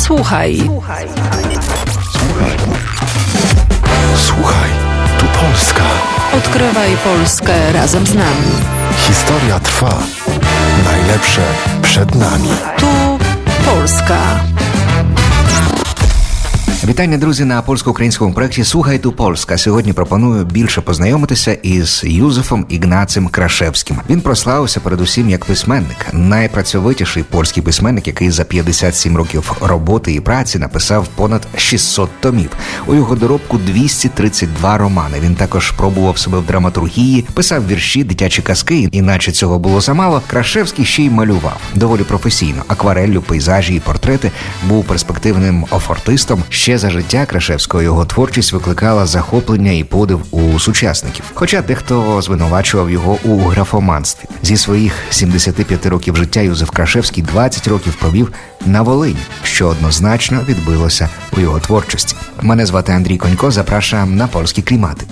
Słuchaj. Słuchaj, tu Polska. Odkrywaj Polskę razem z nami. Historia trwa. Najlepsze przed nami. Tu Polska. Вітання, друзі, на польсько-українському проєкті «Слухай ту Польська». Сьогодні пропоную більше познайомитися із Юзефом Ігнацем Крашевським. Він прославився передусім як письменник. Найпрацьовитіший польський письменник, який за 57 років роботи і праці написав понад 600 томів. У його доробку 232 романи. Він також пробував себе в драматургії, писав вірші, дитячі казки, і наче цього було замало, Крашевський ще й малював. Доволі професійно. Аквареллю, пейзажі і портрети. Був перспективним офортистом. Ще за життя Крашевського його творчість викликала захоплення і подив у сучасників. Хоча дехто звинувачував його у графоманстві. Зі своїх 75 років життя Юзеф Крашевський 20 років провів на Волині, що однозначно відбилося у його творчості. Мене звати Андрій Конько, запрошуємо на польські клімати.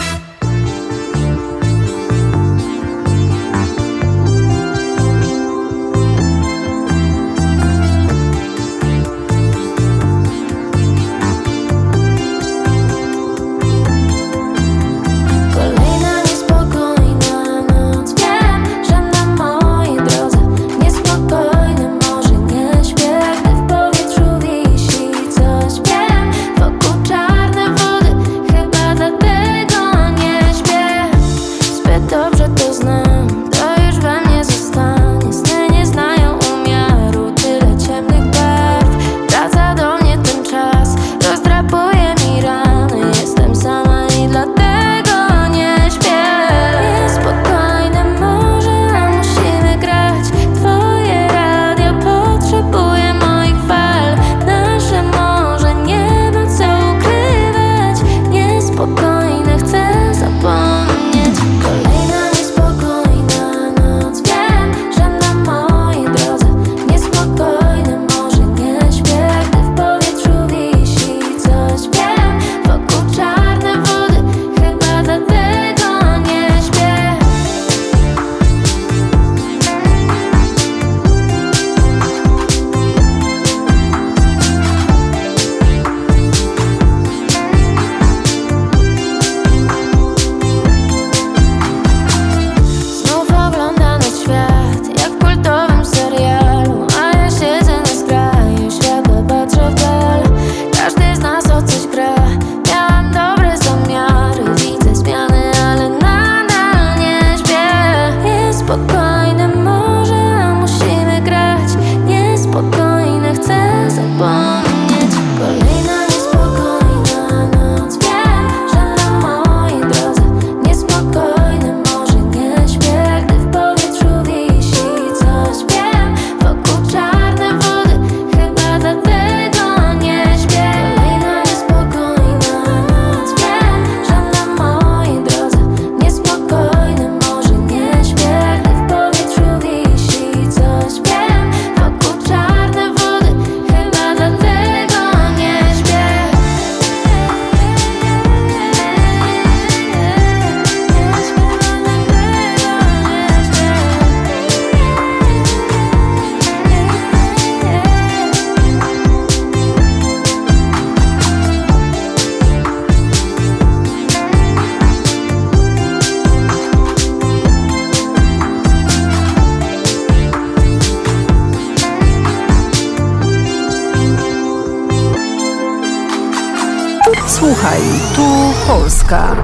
Słuchaj, tu Polska.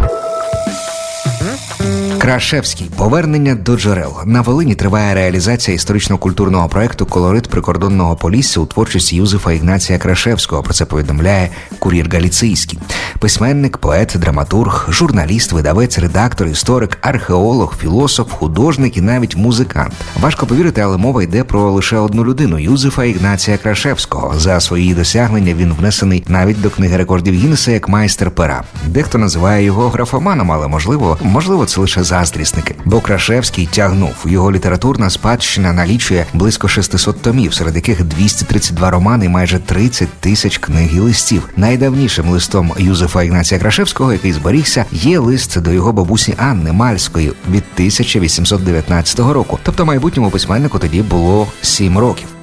Крашевський. Повернення до джерел. На Волині триває реалізація історично-культурного проєкту «Колорит прикордонного Полісся» у творчості Юзефа Ігнація Крашевського. Про це повідомляє «Кур'єр Галіцийський». Письменник, поет, драматург, журналіст, видавець, редактор, історик, археолог, філософ, художник і навіть музикант. Важко повірити, але мова йде про лише одну людину – Юзефа Ігнація Крашевського. За свої досягнення він внесений навіть до книги рекордів Гіннеса як майстер пера. Дехто називає його графоманом, але можливо це лише заздрісники. Бо Крашевський тягнув. Його літературна спадщина налічує близько 600 томів, серед яких 232 романи і майже 30 тисяч книг і листів. Найдавнішим листом Юзефа Ігнація Крашевського, який зберігся, є лист до його бабусі Анни Мальської від 1819 року. Тобто майбутньому письменнику тоді було 7 років.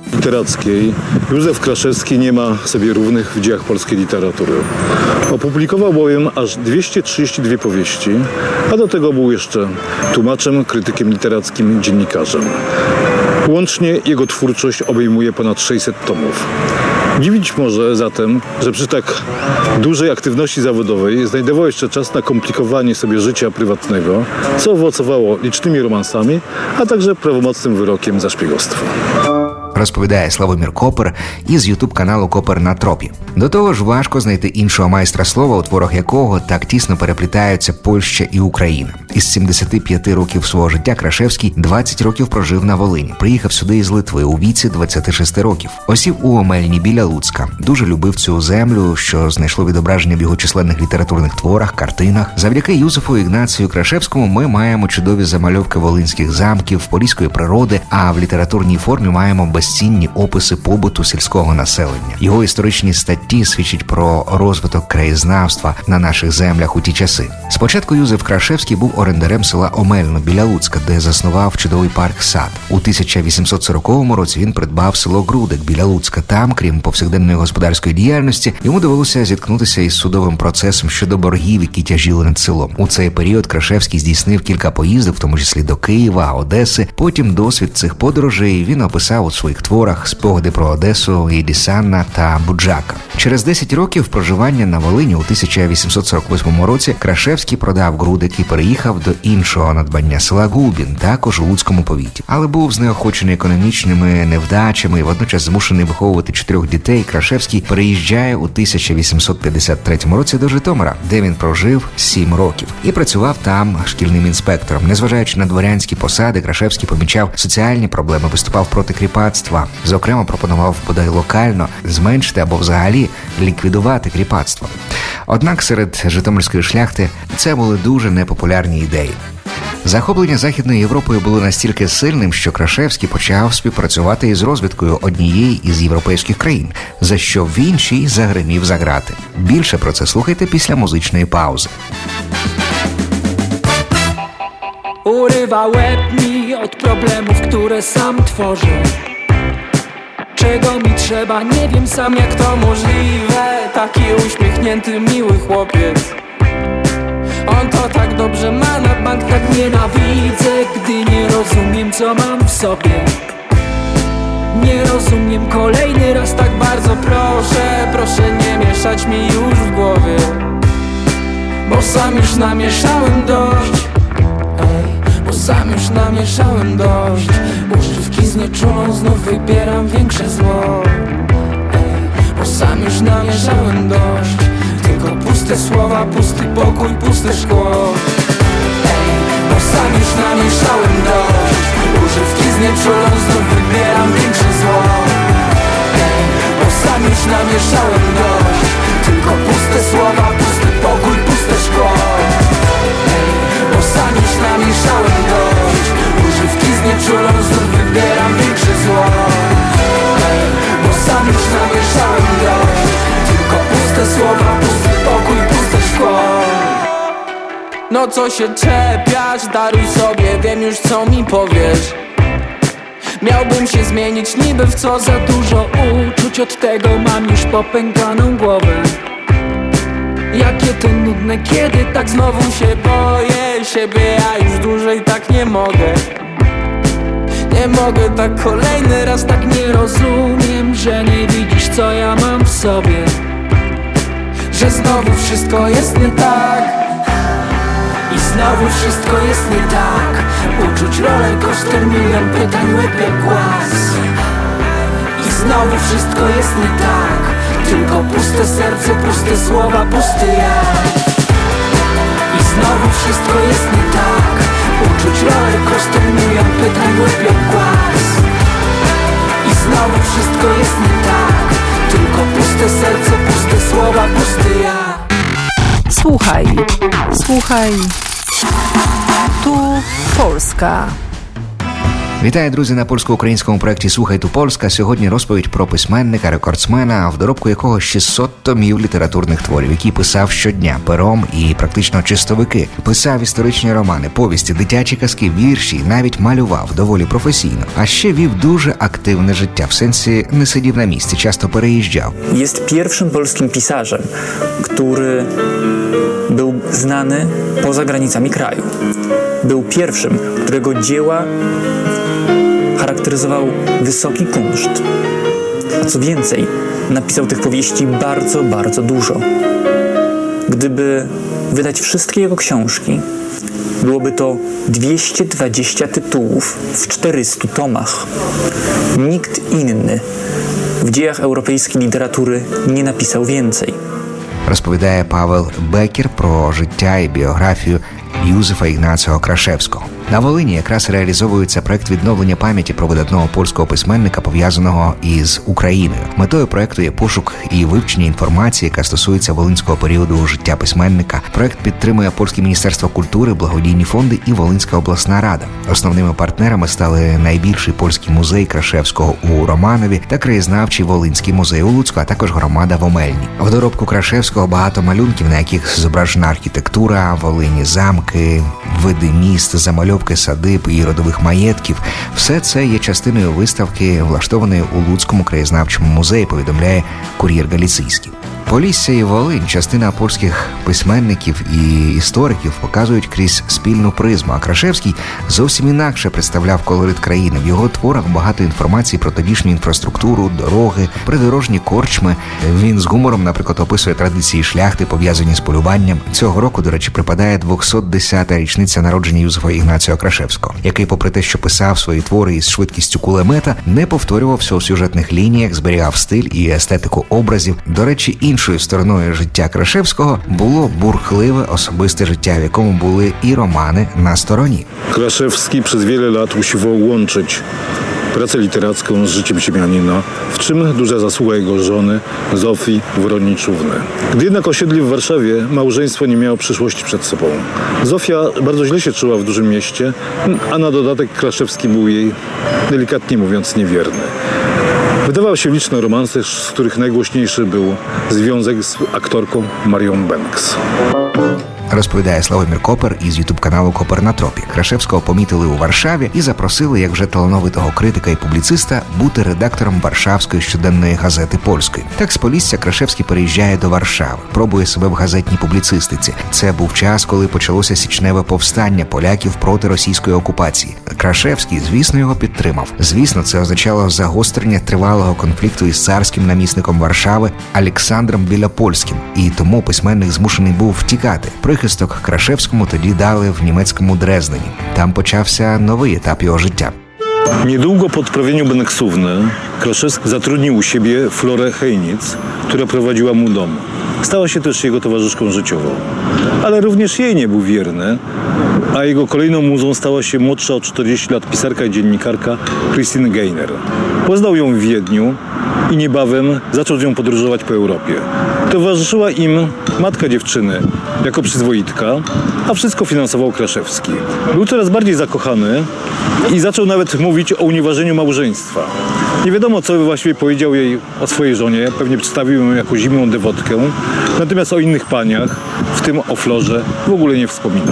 literackiej Józef Kraszewski nie ma sobie równych w dziejach polskiej literatury. Opublikował bowiem aż 232 powieści, a do tego był jeszcze tłumaczem, krytykiem literackim, dziennikarzem. Łącznie jego twórczość obejmuje ponad 600 tomów. Dziwić może zatem, że przy tak dużej aktywności zawodowej znajdował jeszcze czas na komplikowanie sobie życia prywatnego, co owocowało licznymi romansami, a także prawomocnym wyrokiem za szpiegostwo. Розповідає Славомір Копер із ютуб-каналу «Копер на тропі». До того ж, важко знайти іншого майстра слова, у творах якого так тісно переплітаються Польща і Україна. Із 75 років свого життя Крашевський 20 років прожив на Волині. Приїхав сюди із Литви у віці 26 років. Осів у Омельні біля Луцька. Дуже любив цю землю, що знайшло відображення в його численних літературних творах, картинах. Завдяки Юзефу Ігнацію Крашевському ми маємо чудові замальовки волинських замків, поліської природи, а в літературній формі маємо безцінні описи побуту сільського населення. Його історичні статті свідчать про розвиток краєзнавства на наших землях у ті часи. Спочатку Юзеф Крашевський був орендарем села Омельно біля Луцька, де заснував чудовий парк-сад. У 1840 році він придбав село Грудик біля Луцька. Там, крім повсякденної господарської діяльності, йому довелося зіткнутися із судовим процесом щодо боргів, які тяжіли над селом. У цей період Крашевський здійснив кілька поїздок, в тому числі до Києва, Одеси. Потім досвід цих подорожей він описав у своїх творах «Спогади про Одесу», «Єдісанна» та «Буджака». Через 10 років проживання на Волині у 1848 році Крашевський продав Грудик і переїхав до іншого надбання села Губін, також у Луцькому повіті. Але був знеохочений економічними невдачами і водночас змушений виховувати 4 дітей. Крашевський переїжджає у 1853 році до Житомира, де він прожив 7 років і працював там шкільним інспектором. Незважаючи на дворянські посади, Крашевський помічав соціальні проблеми, виступав проти кріпацтва. Зокрема, пропонував бодай локально зменшити або взагалі ліквідувати кріпацтво. Однак серед житомирської шляхти це були дуже непопулярні ідеї. Захоплення Західною Європою було настільки сильним, що Крашевський почав співпрацювати із розвідкою однієї із європейських країн, за що в іншій загримів за грати. Більше про це слухайте після музичної паузи. Urywa łeb mi od problemów, które sam tworzę. Czego mi trzeba, nie wiem sam jak to możliwe. Taki uśmiechnięty, miły chłopiec. On to tak dobrze ma, na bank tak nienawidzę, gdy nie rozumiem co mam w sobie. Nie rozumiem, kolejny raz tak bardzo proszę. Proszę nie mieszać mi już w głowie, bo sam już namieszałem dość. Bo sam już namieszałem dość. Używki znieczulą, znów wybieram większe zło. Bo sam już namieszałem dość. Tylko puste słowa, pusty pokój, puste szkło. Bo sam już namieszałem dość. Używki znieczulą, znów wybieram większe zło. Bo sam już namieszałem dość. Tylko puste słowa, pusty pokój, puste szkło. Bo sam już namieszałem dość. Używki znieczulą, znów wybieram większe zło. Bo sam już namieszałem dość. Tylko puste słowa, pusty pokój, puste szkło. No co się czepiać, daruj sobie, wiem już co mi powiesz. Miałbym się zmienić niby w co, za dużo uczuć, od tego mam już popękaną głowę. Jakie to nudne, kiedy tak znowu się boję siebie, ja już dłużej tak nie mogę. Nie mogę tak kolejny raz, tak nie rozumiem, że nie widzisz co ja mam w sobie. Że znowu wszystko jest nie tak. I znowu wszystko jest nie tak. Uczuć rollercoaster, milion pytań, łeb jak głaz. I znowu wszystko jest nie tak. Tylko puste serce, puste słowa, pusty ja. I znowu wszystko jest nie tak. Uczuć rollercoaster, milion pytań, łeb jak głaz. I znowu wszystko jest nie tak. Tylko puste serce, puste słowa, pusty ja. Słuchaj, słuchaj. Tu Polska. Вітаю, друзі, на польсько-українському проєкті «Слухай ту Польська». Сьогодні розповідь про письменника, рекордсмена, в доробку якого 600 томів літературних творів, які писав щодня пером і практично чистовики. Писав історичні романи, повісті, дитячі казки, вірші, навіть малював доволі професійно. А ще вів дуже активне життя, в сенсі не сидів на місці, часто переїжджав. Jest pierwszym polskim pisarzem, który był znany poza granicami kraju. Był pierwszym, którego dzieła charakteryzował wysoki kunszt. A co więcej, napisał tych powieści bardzo, bardzo dużo. Gdyby wydać wszystkie jego książki, byłoby to 220 tytułów w 400 tomach. Nikt inny w dziejach europejskiej literatury nie napisał więcej. Розповідає Павел Бекер про життя і біографію Юзефа Ігнацього Крашевського. На Волині якраз реалізовується проект відновлення пам'яті про видатного польського письменника, пов'язаного із Україною. Метою проекту є пошук і вивчення інформації, яка стосується волинського періоду життя письменника. Проект підтримує Польське міністерство культури, благодійні фонди і Волинська обласна рада. Основними партнерами стали найбільший польський музей Крашевського у Романові та краєзнавчий Волинський музей у Луцьку, а також громада в Омельні. В доробку Крашевського багато малюнків, на яких зображена архітектура Волині, замки, види міст, замальовки садиб і родових маєтків. Все це є частиною виставки, влаштованої у Луцькому краєзнавчому музеї, повідомляє Кур'єр Галіційський. Полісся і Волинь, частина польських письменників і істориків, показують крізь спільну призму, а Крашевський зовсім інакше представляв колорит країни. В його творах багато інформації про тодішню інфраструктуру, дороги, придорожні корчми. Він з гумором, наприклад, описує традиції шляхти, пов'язані з полюванням. Цього року, до речі, припадає 210-та річниця народження Юзефа Ігнацього Крашевського, який, попри те, що писав свої твори із швидкістю кулемета, не повторювався у сюжетних лініях, зберігав стиль і естетику образів. До речі, іншою стороною життя Крашевського було бурхливе особисте життя, в якому були і романи на стороні. Kraszewski przez wiele lat usiłował łączyć pracę literacką z życiem ziemianina, w czym duża zasługa jego żony Zofii Wroniczówny. Gdy jednak osiedli w Warszawie, małżeństwo nie miało przyszłości przed sobą. Zofia bardzo źle się czuła w dużym mieście, a na dodatek Kraszewski był jej, delikatnie mówiąc, niewierny. Wydawały się liczne romanse, z których najgłośniejszy był związek z aktorką Marią Banks. Розповідає Славомір Копер із ютуб-каналу «Копер на тропі». Крашевського помітили у Варшаві і запросили, як вже талановитого критика і публіциста, бути редактором Варшавської щоденної газети «Польської». Так з Полісся Крашевський переїжджає до Варшави, пробує себе в газетній публіцистиці. Це був час, коли почалося січневе повстання поляків проти російської окупації. Крашевський, звісно, його підтримав. Звісно, це означало загострення тривалого конфлікту із царським намісником Варшави Олександром Білопольським. І тому письменник змушений був втікати. Прихисток Крашевському тоді дали в німецькому Дрездені. Там почався новий етап його життя. Niedługo po odprawieniu Beneksówny Kraszewski zatrudnił u siebie Florę Hejnic, która prowadziła mu dom. Stała się też jego towarzyszką życiową. Ale również jej nie był wierny, a jego kolejną muzą stała się młodsza o 40 lat pisarka i dziennikarka Christine Geiner. Poznał ją w Wiedniu i niebawem zaczął z nią podróżować po Europie. Towarzyszyła im matka dziewczyny jako przyzwoitka, a wszystko finansował Kraszewski. Był coraz bardziej zakochany i zaczął nawet mówić o unieważnieniu małżeństwa. Nie wiadomo, co właściwie powiedział jej o swojej żonie, pewnie przedstawił ją jako zimną dewotkę, natomiast o innych paniach, w tym o Florze, w ogóle nie wspominał.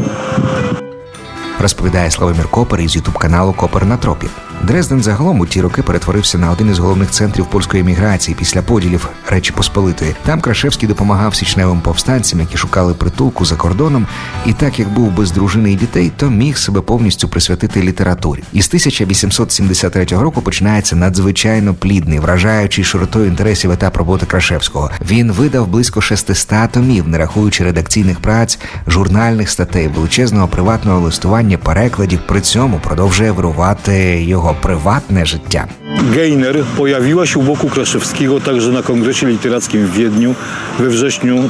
Розповідає Славомір Копер із ютуб-каналу «Копер на тропі». Дрезден загалом у ті роки перетворився на один із головних центрів польської еміграції після поділів Речі Посполитої. Там Крашевський допомагав січневим повстанцям, які шукали притулку за кордоном, і так як був без дружини і дітей, то міг себе повністю присвятити літературі. Із 1873 року починається надзвичайно плідний, вражаючий широтою інтересів етап роботи Крашевського. Він видав близько 600 томів, не рахуючи редакційних праць, журнальних статей, величезного приватного листування, перекладів. При цьому продовжує вирувати його prywatne życia. Geiner pojawiła się u boku Kraszewskiego także na kongresie literackim w Wiedniu we wrześniu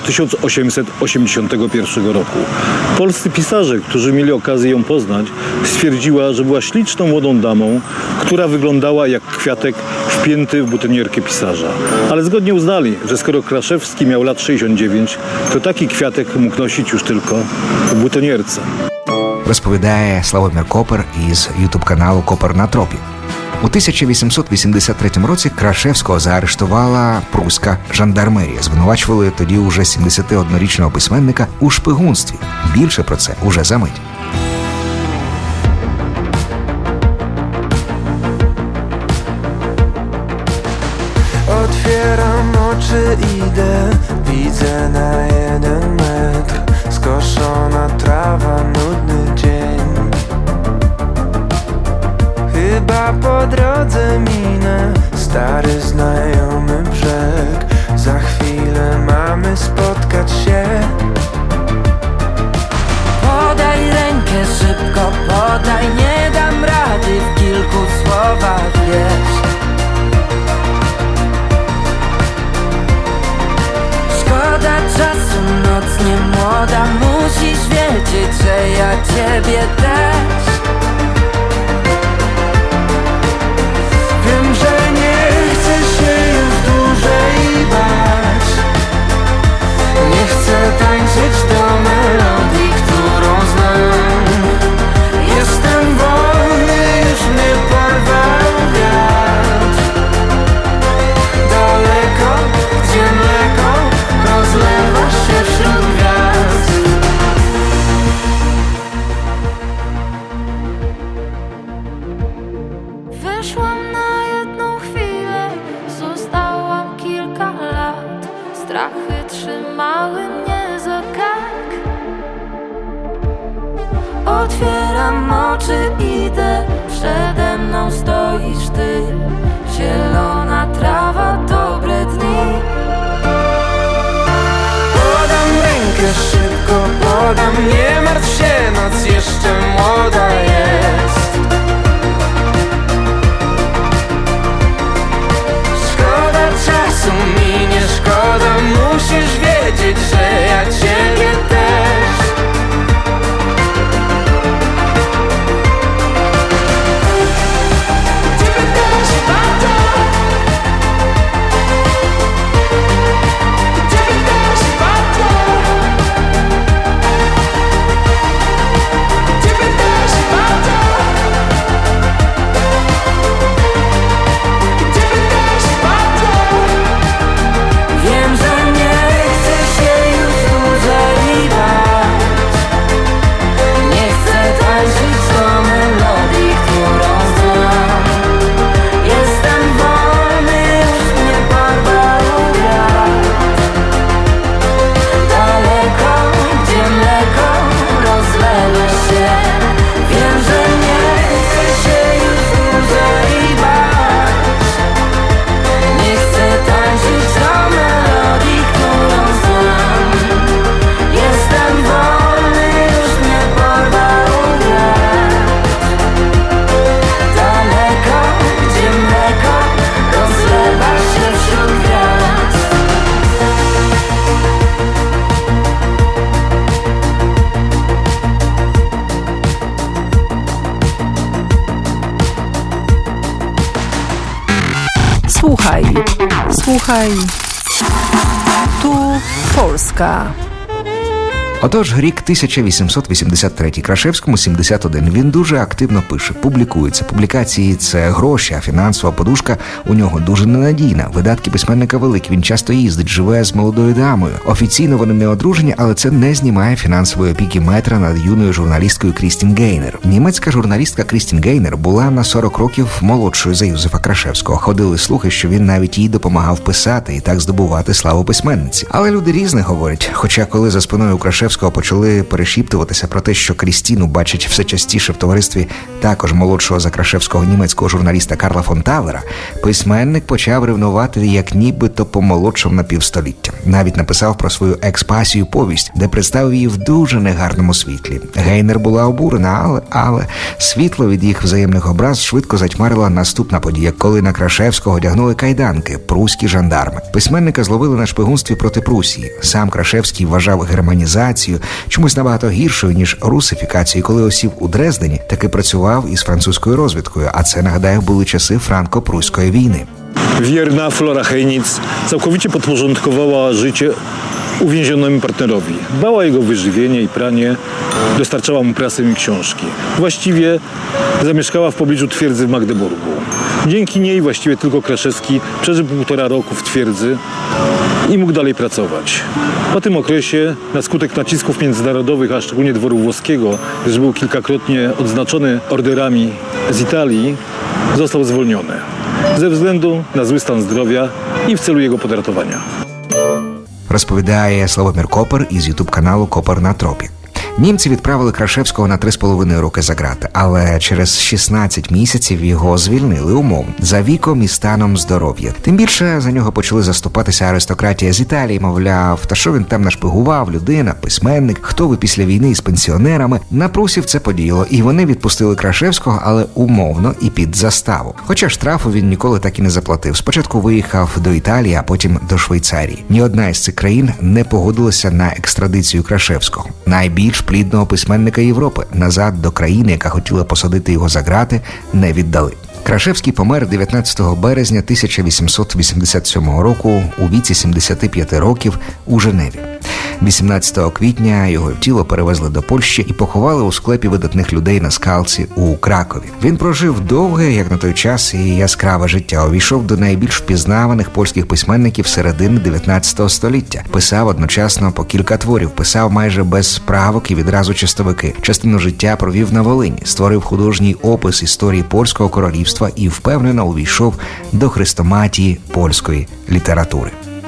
1881 roku. Polscy pisarze, którzy mieli okazję ją poznać, stwierdziła, że była śliczną młodą damą, która wyglądała jak kwiatek wpięty w butonierkę pisarza. Ale zgodnie uznali, że skoro Kraszewski miał lat 69, to taki kwiatek mógł nosić już tylko w butonierce. розповідає Славомір Копер із ютуб-каналу «Копер на тропі». У 1883 році Крашевського заарештувала пруська жандармерія. Звинувачували тоді уже 71-річного письменника у шпигунстві. Більше про це уже за мить. Otwieram oczy, idę, widzę na 1 metr skoszona trawa, nudny dzień. Chyba po drodze minę stary znajomy brzeg. Za chwilę mamy spotkać się. Podaj rękę szybko, podaj, nie dam rady w kilku słowach, wiesz. Szkoda czasu, noc nie młoda, musisz wiedzieć, że ja ciebie też. Wiem, że nie chcę się już dłużej bać. Nie chcę tańczyć do melodii, którą znam. Jestem wolny, już mnie porwał wiatr. Daleko, gdzie mleko rozlewa się wśród gwiazd. Wyszłam na jedną chwilę, zostałam kilka lat. Strachy trzymały mnie za kark. Otwieram oczy, idę, przede mną stoisz ty. Zielona trawa, dobre dni. Podam rękę szybko, podam, nie martw się, noc jeszcze młoda jest. Szkoda czasu minie, szkoda, musisz wiedzieć, że ja ciebie też. Ciebie też bardzo. Ciebie też bardzo. Ciebie też bardzo. Ciebie też bardzo. Wiem, że nie chcę się już dłużej bać. Nie chcę tańczyć do melodii, którą znam. Jestem wolny, już mnie porwał wiatr. Daleko, gdzie mleko rozlewa się. Wiem, że nie chcę się już dłużej bać. Nie chcę tańczyć do melodii, którą znam. Jestem wolny, już mnie porwał wiatr. Daleko, gdzie mleko rozlewa się wśród gwiazd. Słuchaj. Tu Polska. Отож, рік 1883, Крашевському 71. Він дуже активно пише, публікується. Публікації – це гроші, а фінансова подушка у нього дуже ненадійна. Видатки письменника великі, він часто їздить, живе з молодою дамою. Офіційно вони не одружені, але це не знімає фінансової опіки метра над юною журналісткою Крістін Гейнер. Німецька журналістка Крістін Гейнер була на 40 років молодшою за Юзефа Крашевського. Ходили слухи, що він навіть їй допомагав писати і так здобувати славу письменниці. Але люди різне говорять. Хоча коли за спиною Крашевського почали перешіптуватися про те, що Крістіну бачать все частіше в товаристві також молодшого за Крашевського німецького журналіста Карла фон Талера, письменник почав ревнувати як нібито помолодшав на півстоліття. Навіть написав про свою експасію повість, де представив її в дуже негарному світлі. Гейнер була обурена, але світло від їх взаємних образ швидко затьмарила наступна подія, коли на Крашевського одягнули кайданки пруські жандарми. Письменника зловили на шпигунстві проти Прусії. Сам Крашевський вважав германізацію чомусь набагато гіршою, ніж русифікацію. Коли осів у Дрездені, таки працював із французькою розвідкою, а це, нагадаю, були часи франко-пруської війни. Wierna Flora Heinic całkowicie podporządkowała życie uwięzionemu partnerowi. Dbała o jego wyżywienie i pranie, dostarczała mu prasę i książki. Właściwie zamieszkała w pobliżu twierdzy w Magdeburgu. Dzięki niej właściwie tylko Kraszewski przeżył 1,5 roku w twierdzy i mógł dalej pracować. Po tym okresie, na skutek nacisków międzynarodowych, a szczególnie dworu włoskiego, gdyż był kilkakrotnie odznaczony orderami z Italii, został zwolniony ze względu na zły stan zdrowia i w celu jego podratowania. Розповідає Славомір Копер із ютуб-каналу «Копер на тропі». Німці відправили Крашевського на 3,5 роки за ґрати, але через 16 місяців його звільнили умовно за віком і станом здоров'я. Тим більше за нього почали заступатися аристократія з Італії, мовляв, та що він там нашпигував, людина, письменник, хто ви після війни із пенсіонерами. На прусів це подіяло, і вони відпустили Крашевського, але умовно і під заставу. Хоча штрафу він ніколи так і не заплатив. Спочатку виїхав до Італії, а потім до Швейцарії. Ні одна із цих країн не погодилася на екстрадицію Крашевського. Найбільш плідного письменника Європи назад до країни, яка хотіла посадити його за ґрати, не віддали. Крашевський помер 19 березня 1887 року у віці 75 років у Женеві. 18 квітня його тіло перевезли до Польщі і поховали у склепі видатних людей на Скалці у Кракові. Він прожив довге, як на той час, і яскраве життя. Увійшов до найбільш впізнаваних польських письменників середини 19 століття. Писав одночасно по кілька творів, писав майже без правок і відразу чистовики. Частину життя провів на Волині, створив художній опис історії польського королівства і впевнено увійшов до хрестоматії польської літератури.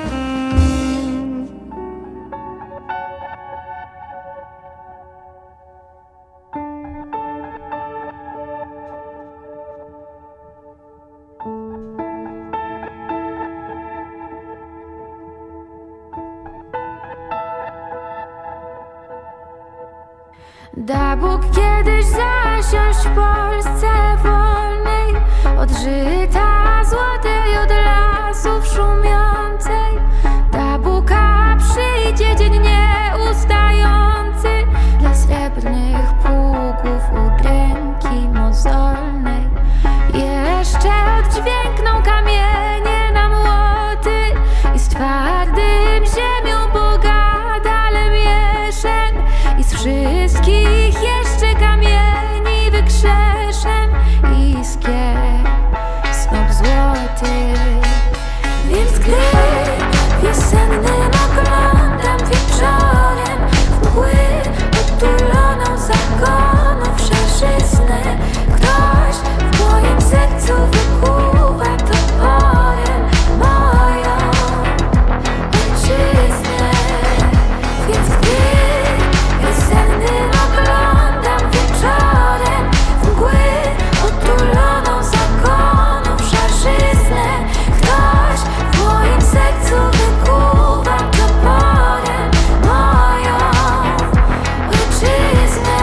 Da Bóg kiedyś zasiąść w Polsce wolnej, od żyta złotej, od lasów szumiącej. Da Bóg, a przyjdzie dzień nieustający dla srebrnych pługów udręki mozolnej. Jeszcze oddźwiękną kamienie na młoty i z twardym ziemią pogada Lemieszem i z wszystkich jeszcze kamieni wykrzeszem iskier snop złoty. Więc gdy wiosennym oglądam wieczorem w mgły otuloną zakonów szarzyznę, ktoś w moim sercu wykuwa toporem moją ojczyznę. Więc gdy wiosennym oglądam wieczorem w mgły otuloną zakonów szarzyznę, ktoś w moim sercu wykuwa toporem moją ojczyznę.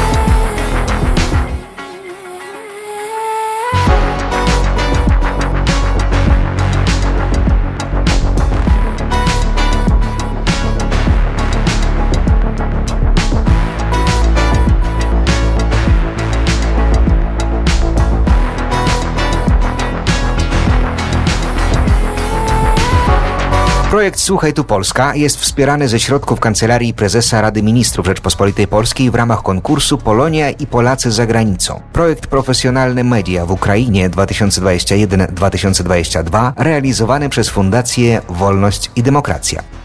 Projekt Słuchaj tu Polska jest wspierany ze środków Kancelarii Prezesa Rady Ministrów Rzeczpospolitej Polskiej w ramach konkursu Polonia i Polacy za granicą. Projekt Profesjonalne Media w Ukrainie 2021-2022 realizowany przez Fundację Wolność i Demokracja.